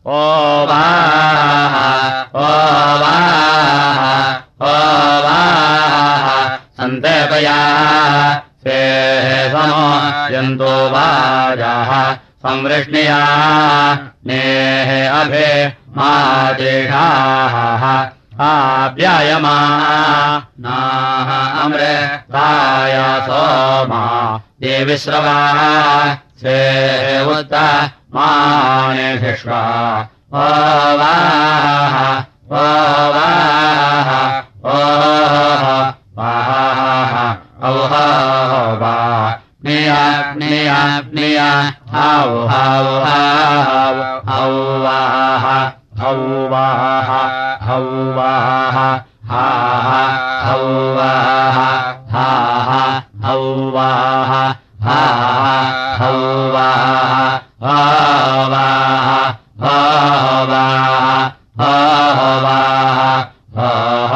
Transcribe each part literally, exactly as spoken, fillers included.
ओ वाः ओ वाः ओ वाः सन्तेपया से समो यन्तो वाजाः संवृष्णिया नेः अभे मादेशाः आप्यायमा नाः अमृताय सोमा देविश्रवा से उत मानेभिष्वा ओ वाः ओ वाः ओ वाः औह वा निया निया निया हौ हौ हौ हौ वाः हौ वाः हौ वाः हा हौ वाः हा हौ वाः हा हौ वाः हा वाः हा वाः हा वाः हा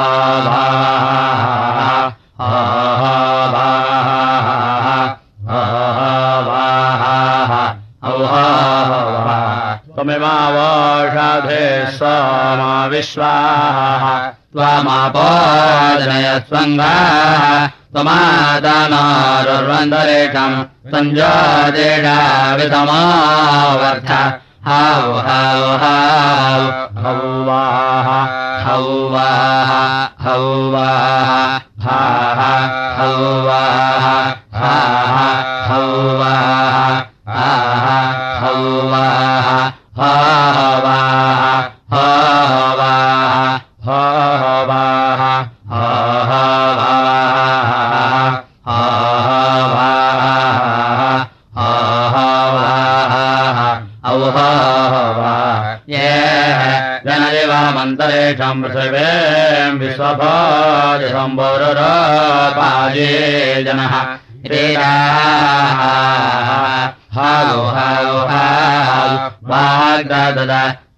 त्वमेवावोषधे सोमा विश्वाः त्वमापोजनय स्वङ्गाः त्वमादानारुर्वन्दरेषम् सञ्जादेशावितमावर्थ हौ हौ हौ हौ वाः हौ वाः हौ वाः हा हौ वाः हा हौ वाः हा हौ वाः हा वाः हा वाः हा वाः हा मन्तरेषम् पृथिवीम् विश्वभोज सम्भोरुरोपाये जनः हौ हौ हौ वाग्दद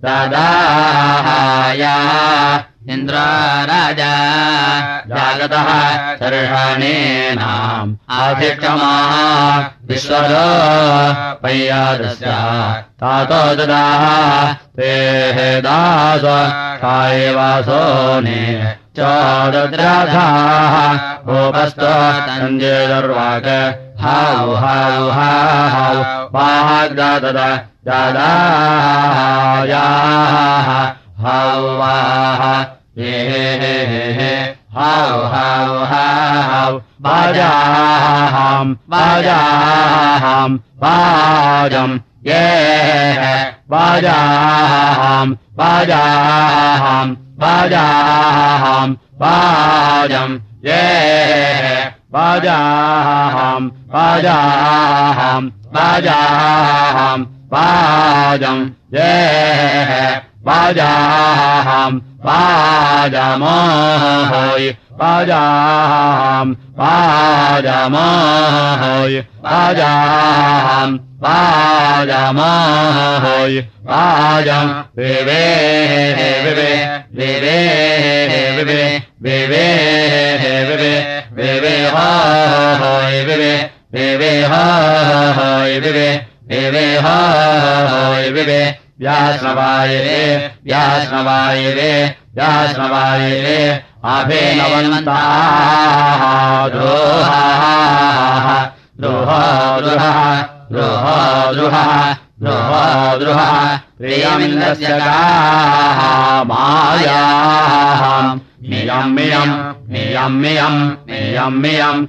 ददाया इन्द्र राजा जागतः सर्षाणीनाम् आधिक्षमा विश्वरो पय्यादस्य तातो ददाः ते दास कायवासोने चोदद्राधाः उपस्तो सञ्जेदर्वाक हौ हौ हौ वाग्दद ददायाः हौ वाः हे हे हौ हौ हौ वाजाहम् वाजाहम् वाजम् ये वाजाहम् वाजाहम् वाजाहम् वाजम् ये वाजाहम् वाजाहम् वाजाहम् वाजम् ये वाजाहम् वाजमोहोय वाजाहम् वाजमोहोय वाजाहम् वाजमोहोय वाजम् विवे विवे विवे विवे विवे विवे विवे होय विवे विवे होय विवे विवे होय विवे व्याश्रवायरे व्याश्रवायरे व्याश्रवायरे अभिनवन्ताः द्रोहाः द्रोहा द्रुहः द्रोहा द्रुहः द्रोहा द्रुहः प्रियमिन्द्रस्य गाः मायाः मियम् मियम् मियम् मियम् मियम् मियम्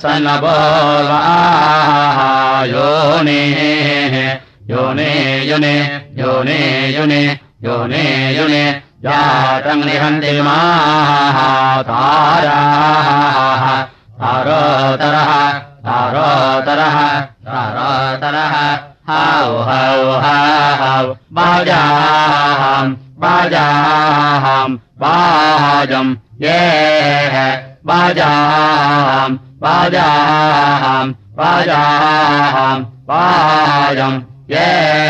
असनबोलाः योनेः योने योने योने योने योने योने जातम् निहन्ति माः ताराः तारोतरः तारोतरः तारोतरः हौ हौ हौ वाजाहम् वाजाहम् वाजम् ये वाजाहम् वाजाहम् वाजाहम् वाजम् ये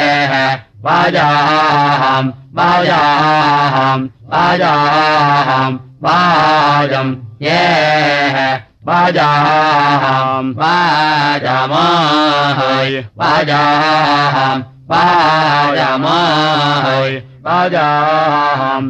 वाजाहम् वाजाहम् वाजाहम् वाजम् ये वाजाहम् वाजमोहोय वाजाहम् वाजमोहोय वाजाम्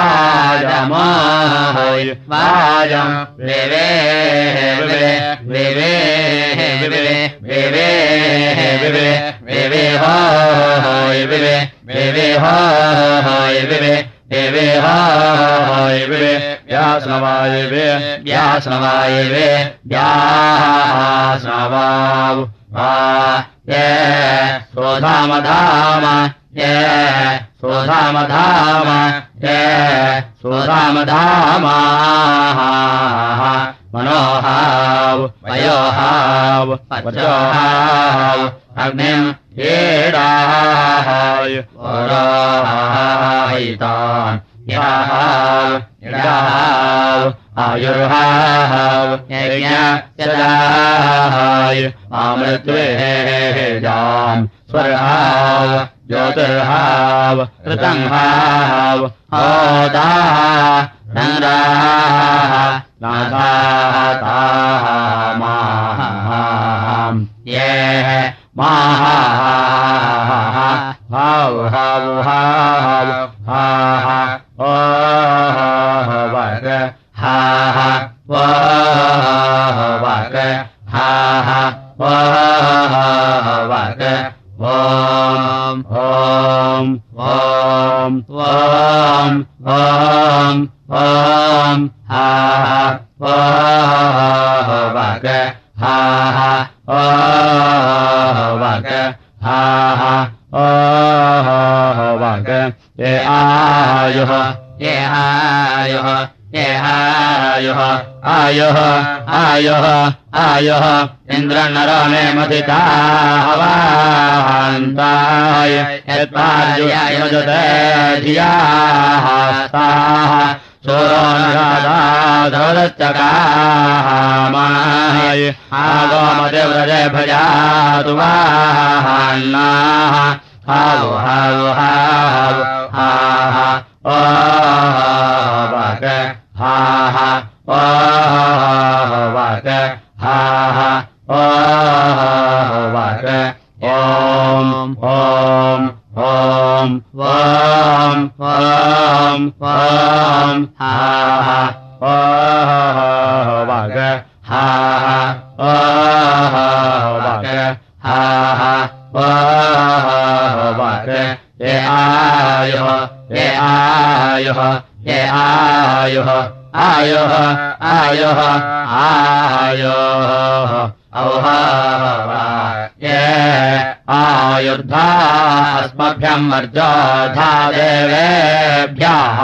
वाजमाय वाजम् विवे विवे विवे विवे विवे विवे विवे हाय विवे विवे हाय विवे विवे हाय विवे व्यासनवाय वे व्यासनवाय वे व्यासनवाव वा ये सोधामधाम ये सोधामधाम ये सोधामधाम मनोहाव वयोहाव वचोहाव अग्निम् येडाहाय वराहितान् याहाव यडाहाव आयुर्हाव यज्ञस्यदाहाय अमृत्वेजाम् स्वर्हाव ज्योतिर्हाव ऋतंहाव होदाः नराः नाथाः माहाम् ये माहाः हाव हाव हाव हाः ओह वग हाः वह वग हाः वह वग ॐ ॐ ॐ ॐ ॐ ॐ हाः वह वग हाः ओह वग हाः ओह वग ये आयुः ये आयुः ये आयुः आयुः आयुः आयुः इन्द्रनरो मे मदिता हवान्ताय यत्पार्जुयाय मजते धियाः ताः सूरो नरादाधवदच्चकामाय आगोमदेव्रजे भजातु वाहन्नाः हाव हाव हाव हाः ओह वग हाः ओह वग हाः ओह वग ॐ ॐ ॐ ॐ ॐ ॐ हाः ओह वग हाः ओह वग हाः ओह वग ये आयुः ये आयुः ये आयुः आयुः आयुः आयुः औह ये आयुर्धा अस्मभ्यम् वर्जोधा देवेभ्यः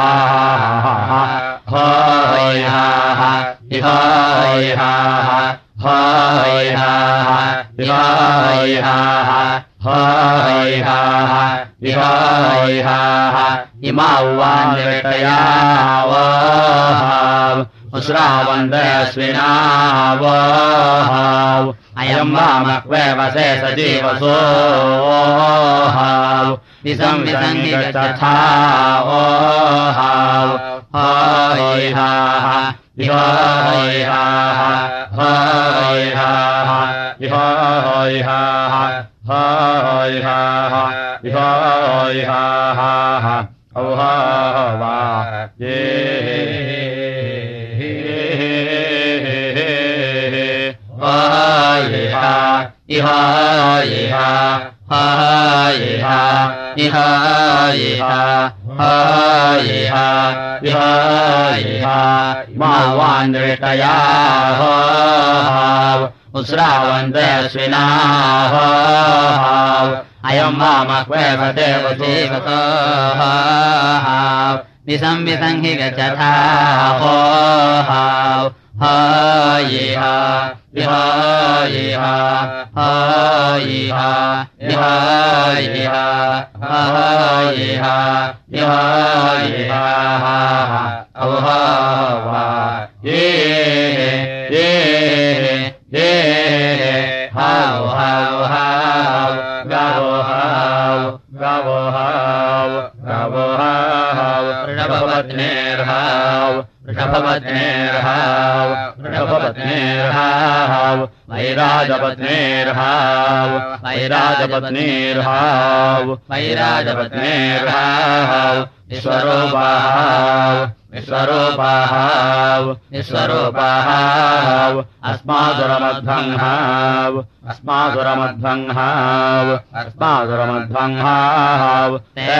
होयः इहोयः होयः इहोयः होयः इहोयः इमा उवान्यतयावः उश्रावन्दस्विनावः अयम् वामक्वेवसे सजीवसोहाव विसं विसंहि गच्छावोहाव होयः इहोयः होयः इहोयः होयः इहोयः औह वा ये हायः इहायः हायः इहायः हायः इहायः मा वान्नृतयाः उश्रावन्तस्विनाः अयम् वामक्वेवदेवदेवतः विसं विसंहि गच्छथाः हायः इहायः हायः इहायः हायः इहायः औह वा ये ये ये हाव हाव हाव गावो हाव गावो हाव गावो हाव ऋषभपत्नेर्हाव वृषभपत्नेर्हाव वृषभपत्नेर्हाव वैराजपत्नेर्हाव वैराजपत्नेर्हाव वैराजपत्नेर्हाव विश्वरूपाहाव विश्वरूपाहाव विश्वरूपाहाव अस्मासुरमध्वंहाव अस्मासुरमध्वंहाव अस्मासुरमध्वंहाव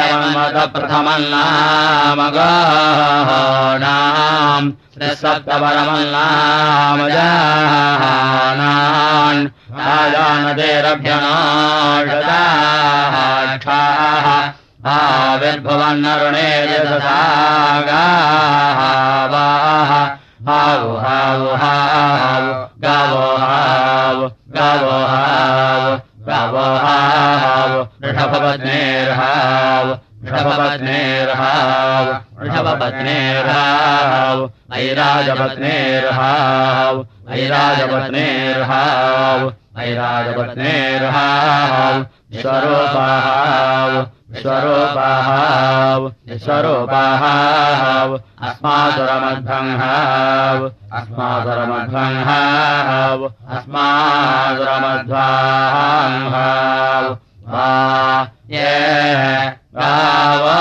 देवन्मदप्रथमन्नामगानाम् सप्तपरमन्नामजानान् राजानदेरभ्यनाषदाक्षाः आविर्भवन्नरुणे यशसागावाः हाव हाव हाव गावो हाव गावो हाव गावो हाव वृषभपत्नेर्हाव वृषभपत्नेर्हाव वृषभपत्नेर्हाव वैराजपत्नेर्हाव वैराजपत्नेर्हाव वैराजपत्नेर्हाव विश्वरूपाहाव विश्वरूपाहाव विश्वरूपाहाव अस्मासुरमध्वंहाव अस्मासुरमध्वंहाव अस्मासुरमध्वाहाव वा ये गावो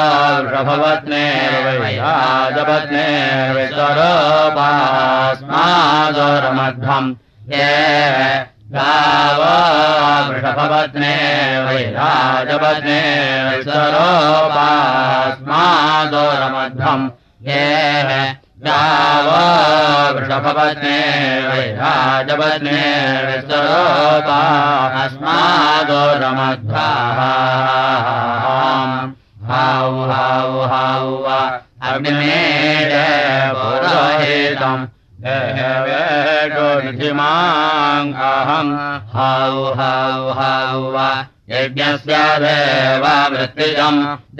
वृषभपत्नेर्वैराजपत्नेर्विश्वरूपास्मासुरमध्वम् ये गावो वृषभपत्ने वैराजपत्ने विश्वरूपास्मासुरमध्वम् ये गावो वृषभपत्ने वैराजपत्ने विश्वरूपास्मासुरमध्वाम् हाव हाव हाव अग्निमेष पुरोहितम् देवेशोनिधिमाम् अहम् हाव हाव हाव यज्ञस्य देवावृत्तिजम्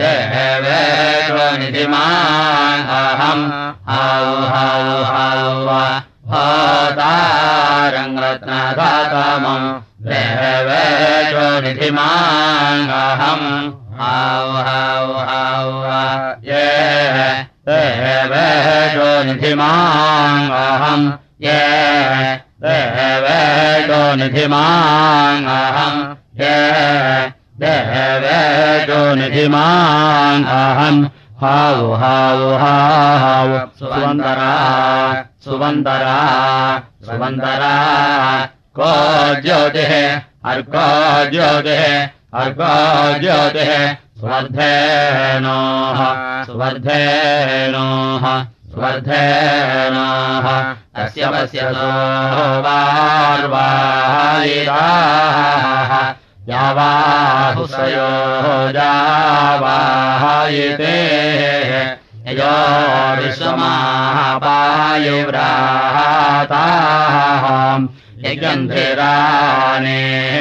देवेशोनिधिमाम् अहम् हाव हाव हाव होतारम् रत्नधातमम् देवेशोनिधिमाम् अहम् हाव हाव हाव ये देवेशोनिधिमाम् अहम् ये देवेशोनिधिमाम् अहम् ये देवेशोनिधिमाम् अहम् हाव हाव हाव सुवन्दरा सुवन्दरा सुवन्दरा को ज्योतिः अर्को ज्योतिः अर्को ज्योतिः सुवर्धेनोः सुवर्धेनोः सुवर्धेनोः तस्य पश्यतो वार्वायिताः यावाहुसयो जावायिते यो विश्वमापायुव्राताः यज्ञन्धिराने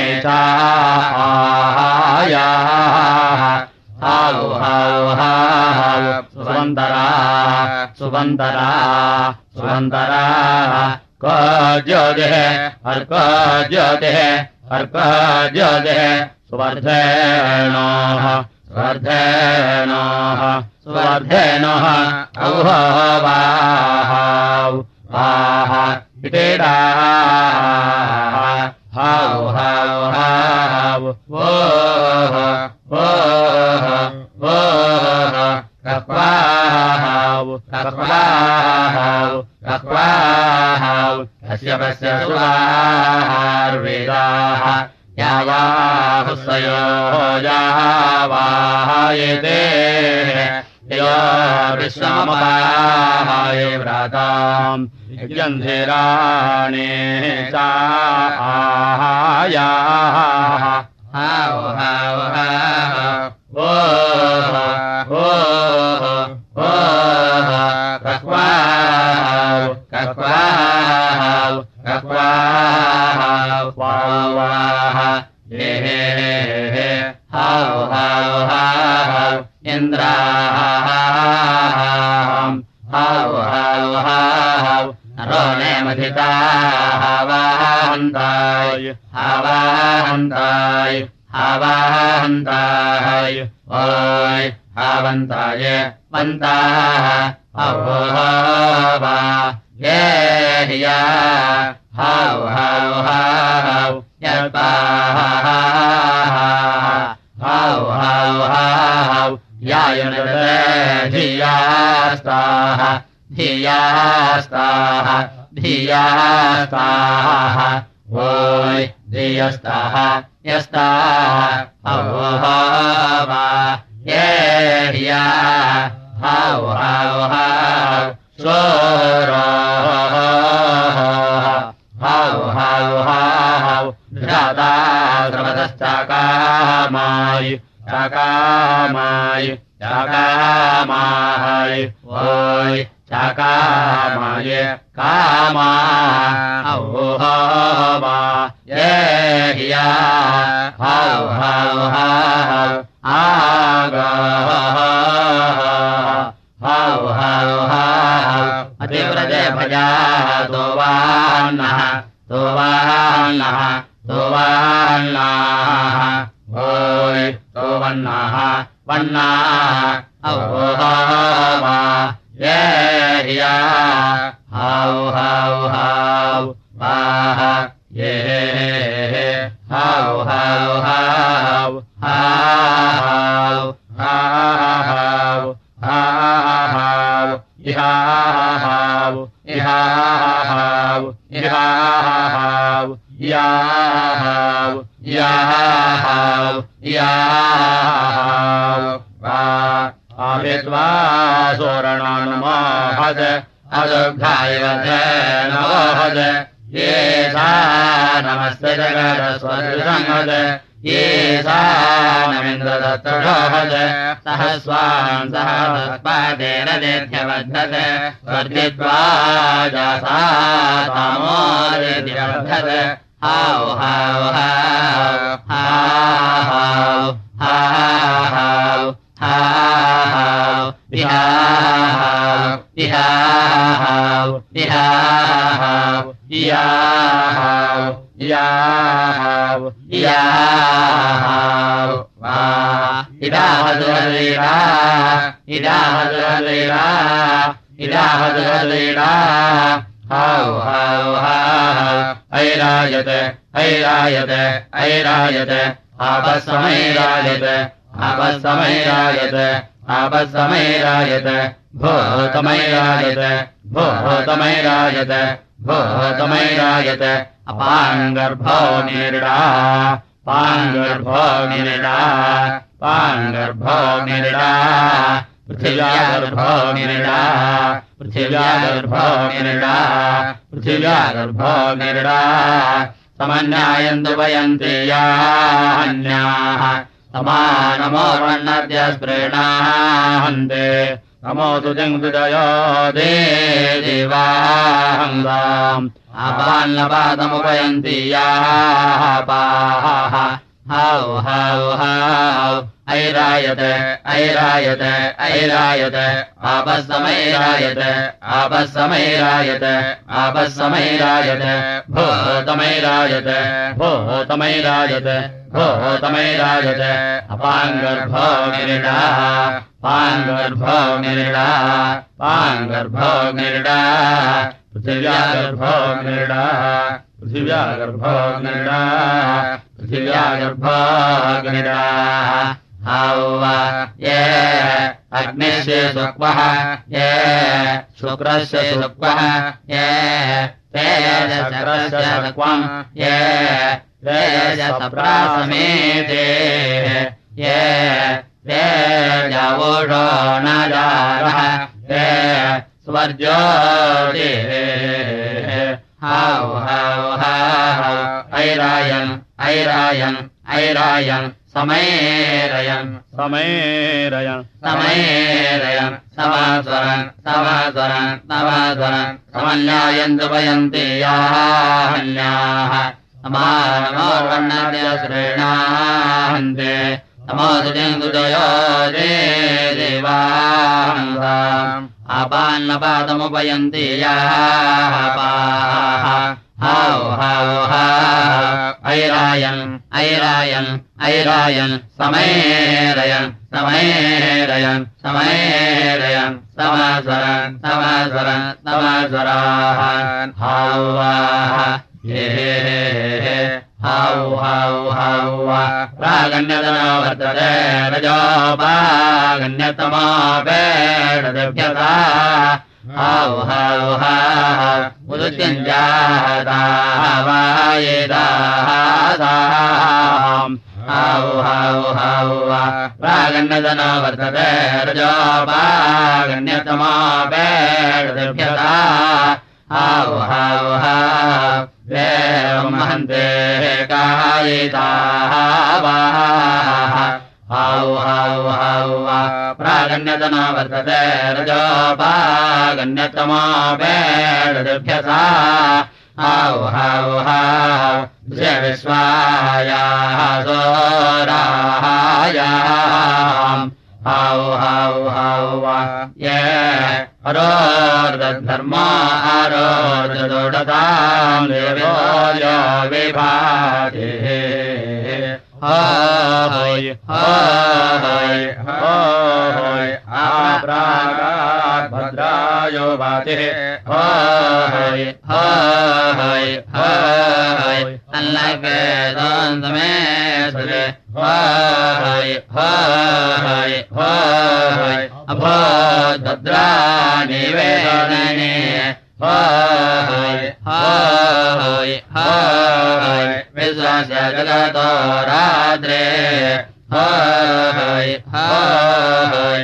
चाहायाः हाव हाव हाव सुवन्दरा सुवन्दरा सुवन्दरा को ज्योतिः अर्को ज्योतिः अर्को ज्योतिः सुवर्धेनोः सुवर्धेनोः सुवर्धेनोः औहो वाहाव वाह इतेडाः हाव हाव हाव वोः वोः वोः कक्वाहाव कक्वाहाव कक्वाहाव अस्य पश्य सुवाहार्वेदाः यावाहुसयो जावायते यो विश्वमपायुव्राताम् यज्ञन्धिराणे चाहायाः हाव हाव हाव वोः वोः वोः कक्वाहाव कक्वाहाव कक्वाहाव वावाः हे हे हे हाव हाव हाव इन्द्राहाम् हाव हाव हाव नरोनेमधिताः हावाहन्ताय हावाहन्ताय हावाहन्ताय ओय हावन्ताय वन्ताः अवोवा ये हिया हाव हाव हाव यत्पाः हाव हाव हाव यायुनते धियास्ताः धियास्ताः धियास्ताः ओय धियस्ताः यस्ताः अवोवा ये हिया हाव हाव हाव स्वराः हाव हाव हाव धृता द्रवतश्चाकामाय चाकामाय चाकामाय ओय चाकामाय कामा अवोवा ये हिया हाव हाव हाव आगाः हाव हाव हाव अतिव्रजे भजाः तोवान्नः तोवान्नः तोवान्नाः ओय तोवन्नाः वन्नाः अवोवा ये हिया हाव हाव हाव वाह ये हाव हाव हाव हाव हाव हाव इहाव इहाव इहाव याव याव याव वा आविद्वा सोरणानुमाहद अदुघायवधे नवहद ये सा नमस्ते जगदस्वदृशंहद ये सा नमिन्द्रदत्तढोहद सहस्वान् सहस्पादेन देध्यवद्धद स्वर्गित्वा जासा तामोदिध्यवद्धद हाव हाव हाव हाव हाव हाव इहाव इहाव इहाव इहाव इहाव इहाव वा इदाहदुहलीला इदाहदुहलीला इदाहदुहलीला हाव हाव हाव ऐरायते ऐरायते ऐरायते आपस्समैरायते आपस्समैरायते आपस्समैरायते भूतमैरायते भूतमैरायते भूतमैरायते अपाङ्गर्भो निरिडा पाङ्गर्भो निरिडा पाङ्गर्भो निरिडा पृथिव्यागर्भो निरिडा पृथिव्यागर्भो निरिडा पृथिव्यागर्भो निरिडा समन्यायन्तु वयन्ति यान्याः समानमोर्वण्णद्य स्प्रीणाहन्ते नमोऽस्तु जङ्गुदयो देवाहङ्गाम् आपान्नपादमुपयन्ति याः पाः हाव हाव हाव ऐरायते ऐरायते ऐरायते आपस्समैरायते आपस्समैरायते आपस्समैरायते भूतमैरायते भूतमैरायते भूतमैरायते अपाङ्गर्भो निरिडा पाङ्गर्भो निरिडा पाङ्गर्भो निरिडा पृथिव्यागर्भो निरिडा पृथिव्यागर्भो निरिडा पृथिव्यागर्भो निरिडा हाव ये अग्निस्य शुक्वः ये शुक्रस्य शुक्वः ये तेजश्चक्रस्य शुक्वम् ये तेजसप्रासमेते ये तेजवोषो न जारः ये स्वर्ज्योति हाव हाव हाव ऐरायन् ऐरायन् ऐरायन् समेरयन् समेरयन् समेरयन् समास्वरन् समास्वरन् समास्वरन् समन्यायन्तु वयन्ति यान्याः समानमोर्वण्णद्य श्रेणाहन्ते नमोऽस्तु जङ्गुदयो देवाहङ्गाम् आपान्नपादमुपयन्ति याः पाः हाव हाव हाव ऐरायन् ऐरायन् ऐरायन् समेरयन् समयेरयन् समयेरयन् समस्वरन् समस्वरन् समस्वरान् हौवाः हे हौ हौ हौ प्रागण्यतनो वर्तते रजोपागण्यतमो वेदभ्यता हौ हौ हौ उदुत्यञ्जाताः वायेदाः साम् हौ हौ हौ प्रागण्यतनो वर्तते रजोपागण्यतमो वेदभ्यता हौ हौ हौ एवं महन्ते कायिताः वाः हौ हौ हौ प्रागण्यतनो वर्तते रजोपागण्यतमो वेदभ्यसा हौ हौ हौ विश्वायाः सोरायाम् हौ हौ हौ ये अरोर्धर्मा अरोर्धोडताम् देवो यो विभाति होय होय होय आप्रागात् भद्रायो भाति होय होय होय अल्लाके दोन्तमे सुरे होय होय होय अभोद् भद्राणि वेदने होय होय होय विश्वस्य जगतो रात्रे होय होय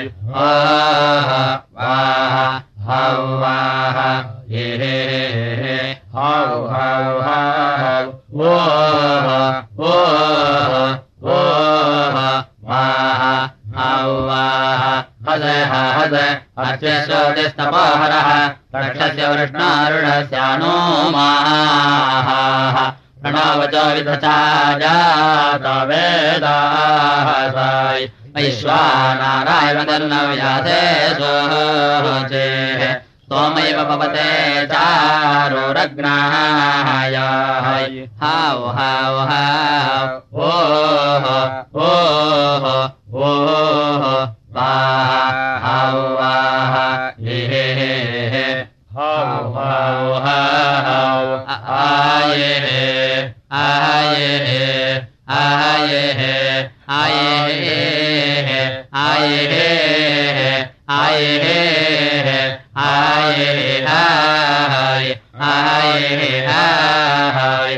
वाह हौ वाह हे हौ हौ हौ वो वो वो वाह हौ वाह हद हद अर्चस्योतिस्तपोहरः रक्षस्य वृष्णारुणस्यानो माः प्रणवचो विदचा जाता वेदाः साय वैश्वानाराय मदर्नव्यासे सोचेः सोमैव पवते चारोरग्नाय हौ हौ हौ ओः ओः ओः वाह हौ वाह हे हौ हौ हौ आये आये आये आये आये आये आये आये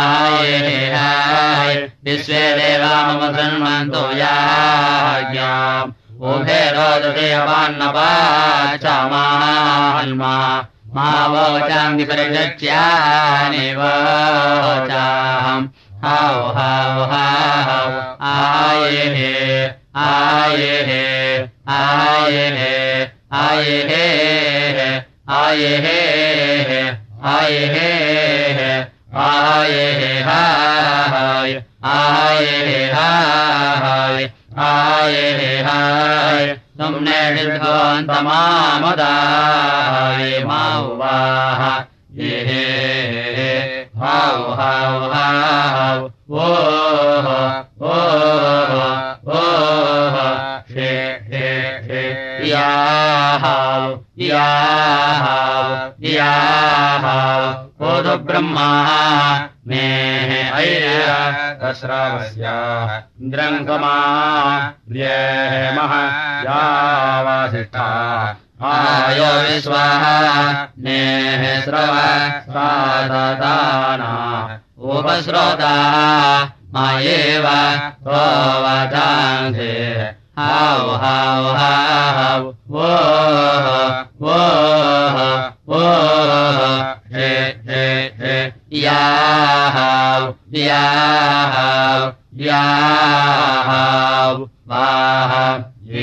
आये विश्वे देवा मम सन्मन्तो याज्ञाम् उभे रोदते अवान्नवाचामाहन्मा मा वोचाम् विपरिचक्ष्यानि वोचाम् हौ हौ हौ आये आये आये आये आये आये आये हाय आये हाय आये हाय तुमने निर्घोन्तमामुदाय मावाह ये हौ हौ हौ ओह ओह ओह हे हे हे याहौ याहौ याहौ ओदु ब्रह्मा मे अय्य तस्रावस्याः इन्द्रङ्गमा व्येमः यावासिष्ठा आयो विश्वाः नेः स्रव स्वाददाना उपस्रोता मायेव सोवदान्धे हौ हौ हौ वोः वोः वोः हे हे हे याहौ याहौ याहौ वाह ये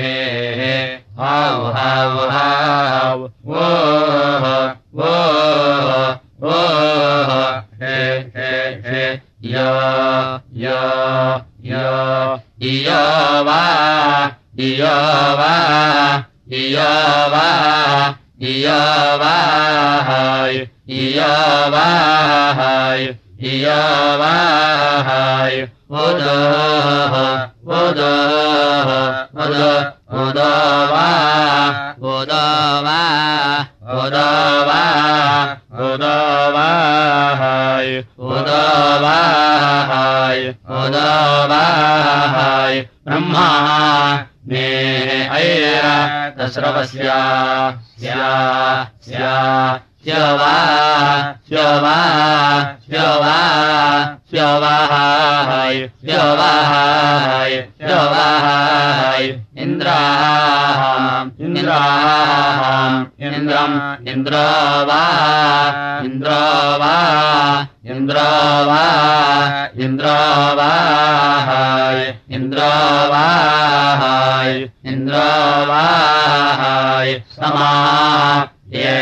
हौ हौ हौ वोः वोः वोः हे हे हे यो यो यो इयो वा इयो वा इयो वा इयो वा हाय इयो वा हाय इयो वा हाय उदोः उदो उदो उदो वा उदो वा उदो वा उदो वा हाय उदो वा हाय उदो वा हाय ब्रह्मा मे ऐरा तस्रवस्या स्या स्या स्यवा स्यवा स्यवा स्यवाहाय स्यवाहाय स्यवाहाय इन्द्राहाम् इन्द्राहाम् इन्द्रम् इन्द्रो वा इन्द्रो वा इन्द्रो वा इन्द्रो वाहाय इन्द्रो वाहाय इन्द्रो वाहाय समा ये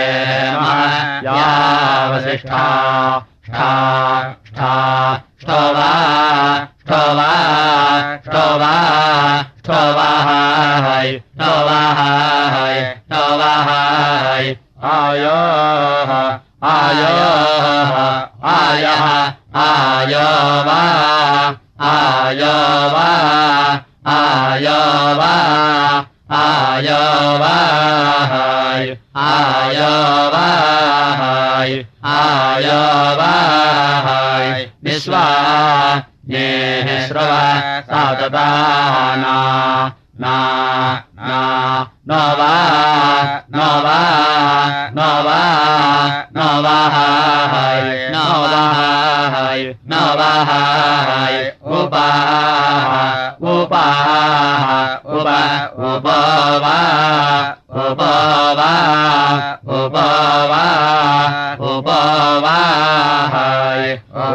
यावसिष्ठा ष्ठा ष्ठा ष्ठवा ष्ठवा ष्ठवा ष्ठवाहाय ष्ठवाहाय ष्ठवाहाय आयोः आयोः आयः आयो वा आयो वा आयो वा आयो वाहाय आयो वाहाय आयो वाहाय विश्वा ये श्रव सातदाना ना ना नवा नवा नवा नवाहाय नवाहाय नवाहाय उपाह उपाह उप उपवा उपवा उपवा उपवाहाय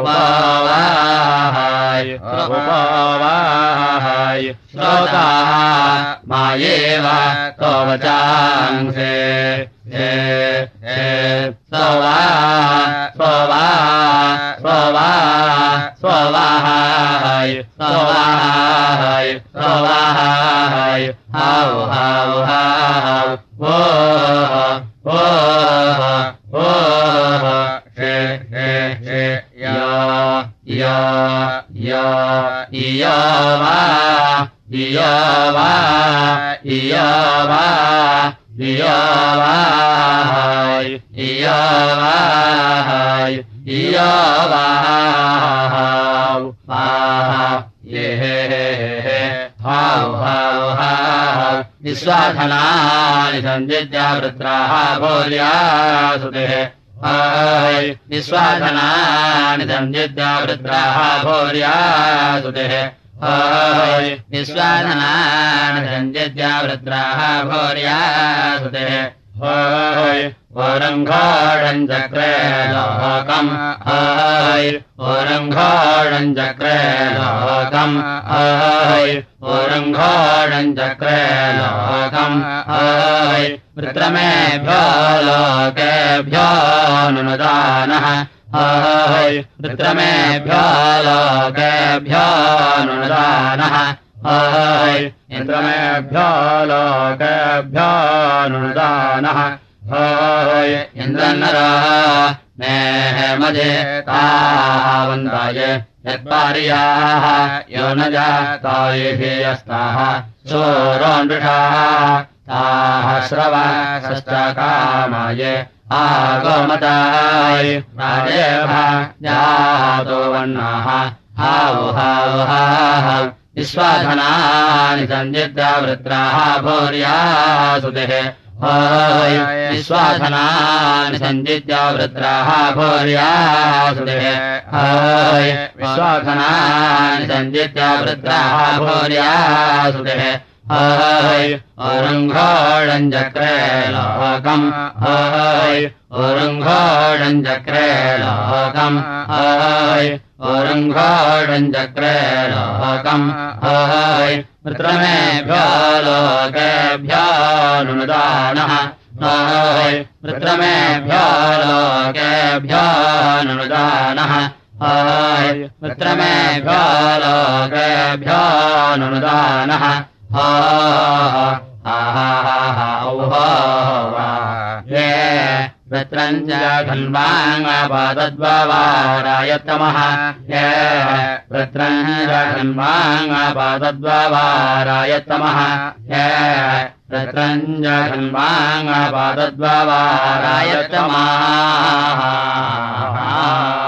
उपवाहाय उपवाहाय श्रोता मायेव तवचांसे हे हे स्ववा स्ववा स्ववा स्ववाहाय स्ववाहाय स्ववाहाय हाव हाव हाव वो वो वो हे हे हे या या या या वा या वा या वा या वाहाय या वाहाय या वाहाव वाहा ये हाव हाव हाव विश्वाधनानि संजित्या वृत्राः भोर्यासुतेः हाय विश्वाधनानि संजित्या वृत्राः भोर्यासुतेः हाय विश्वाधनानि संजित्या वृत्राः भोर्यासुतेः हाय ओरङ्घोषम् चक्रे लोकम् हाय ओरङ्घोषम् चक्रे लोकम् हाय ओरङ्घोषम् चक्रे लोकम् हाय वृत्रमेभ्यो लोकेभ्यो नुदानः हाय वृत्रमेभ्यो लोकेभ्यो नुदानः हाय इन्द्रमेभ्यो लोकेभ्यो नुदानः हाय इन्द्रन्नरा मेह मजे तावन्ताय यत्पार्याः यो न जातायेभियस्ताः सोरोन्वृषाः ताः श्रवसश्चकामाय आगमताय राजेभा जातो वन्नाः हाव हाव हाव विश्वाधनानि संजित्या वृत्राः भोर्यासुतेः हाय विश्वाधनानि संजित्या वृत्राः भोर्यासुतेः हाय विश्वाधनानि संजित्या वृत्राः भोर्यासुतेः हाय ओरङ्घोषम् चक्रे लोकम् हाय ओरङ्घोषम् चक्रे लोकम् हाय ओरङ्घोषम् चक्रे लोकम् हाय वृत्रमेभ्यो लोकेभ्यो नुदानः हाय वृत्रमेभ्यो लोकेभ्यो नुदानः हाय वृत्रमेभ्यो लोकेभ्यो नुदानः हा हा हा हा हा ये वृत्रञ्च खन्वाङ्गापादद्वारायत्तमः वृत्रञ्च खन्वाङ्गापादद्वारायत्तमः वृत्रञ्च खन्वाङ्गापादद्वारायत्तमः